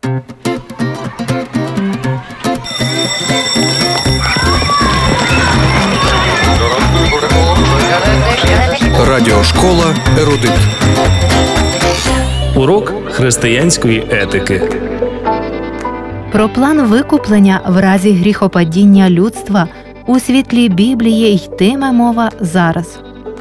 Радіошкола «Ерудит». Урок християнської етики. Про план викуплення в разі гріхопадіння людства у світлі Біблії йтиме мова зараз.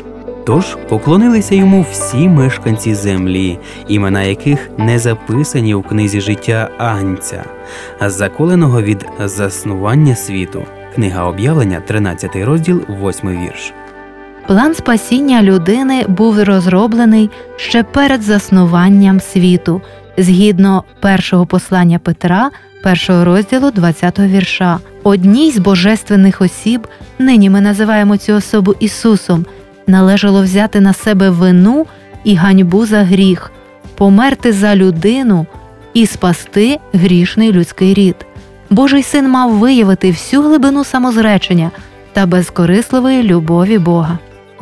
Тож поклонилися йому всі мешканці землі, імена яких не записані у книзі життя Агнця, заколеного від заснування світу. Книга Об'явлення, 13 розділ, 8 вірш. План спасіння людини був розроблений ще перед заснуванням світу, згідно першого послання Петра, 1 розділу, 20 вірша. Одній з божественних осіб, нині ми називаємо цю особу Ісусом, належало взяти на себе вину і ганьбу за гріх, померти за людину і спасти грішний людський рід. Божий Син мав виявити всю глибину самозречення та безкорисливої любові Бога.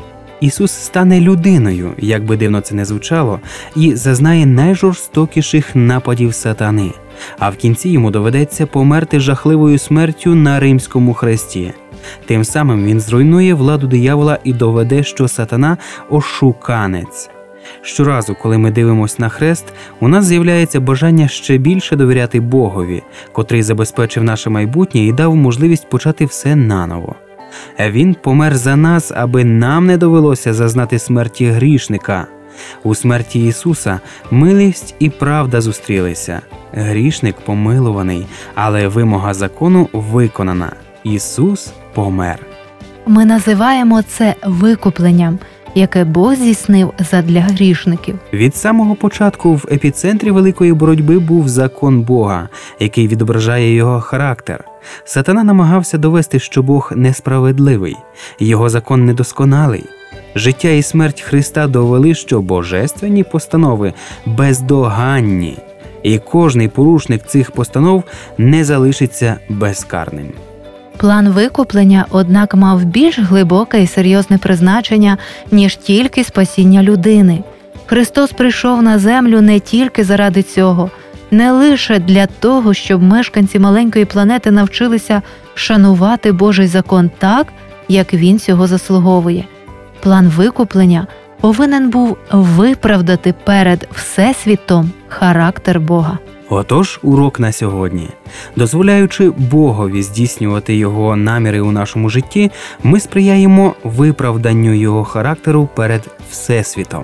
Ісус стане людиною, як би дивно це не звучало, і зазнає найжорстокіших нападів сатани, а в кінці йому доведеться померти жахливою смертю на римському хресті. Тим самим він зруйнує владу диявола і доведе, що сатана – ошуканець. Щоразу, коли ми дивимося на хрест, у нас з'являється бажання ще більше довіряти Богові, котрий забезпечив наше майбутнє і дав можливість почати все наново. Він помер за нас, аби нам не довелося зазнати смерті грішника. У смерті Ісуса милість і правда зустрілися. Грішник помилуваний, але вимога закону виконана. Ісус помер. Ми називаємо це викупленням, яке Бог здійснив задля грішників. Від самого початку в епіцентрі великої боротьби був закон Бога, який відображає його характер. Сатана намагався довести, що Бог несправедливий, його закон недосконалий. Життя і смерть Христа довели, що божественні постанови бездоганні, і кожний порушник цих постанов не залишиться безкарним. План викуплення, однак, мав більш глибоке і серйозне призначення, ніж тільки спасіння людини. Христос прийшов на землю не тільки заради цього, не лише для того, щоб мешканці маленької планети навчилися шанувати Божий закон так, як він цього заслуговує. План викуплення повинен був виправдати перед Всесвітом характер Бога. Отож, урок на сьогодні. Дозволяючи Богові здійснювати Його наміри у нашому житті, ми сприяємо виправданню Його характеру перед Всесвітом.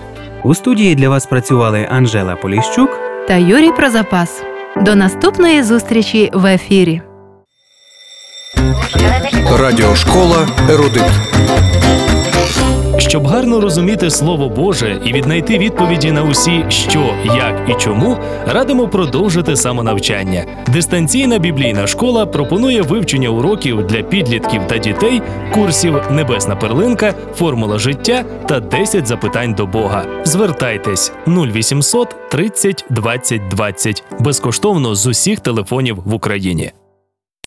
У студії для вас працювали Анжела Поліщук та Юрій Прозапас. До наступної зустрічі в ефірі. Радіошкола «Ерудит». Щоб гарно розуміти Слово Боже і віднайти відповіді на усі «що», «як» і «чому», радимо продовжити самонавчання. Дистанційна біблійна школа пропонує вивчення уроків для підлітків та дітей, курсів «Небесна перлинка», «Формула життя» та «10 запитань до Бога». Звертайтесь 0800 30 20 20 безкоштовно з усіх телефонів в Україні.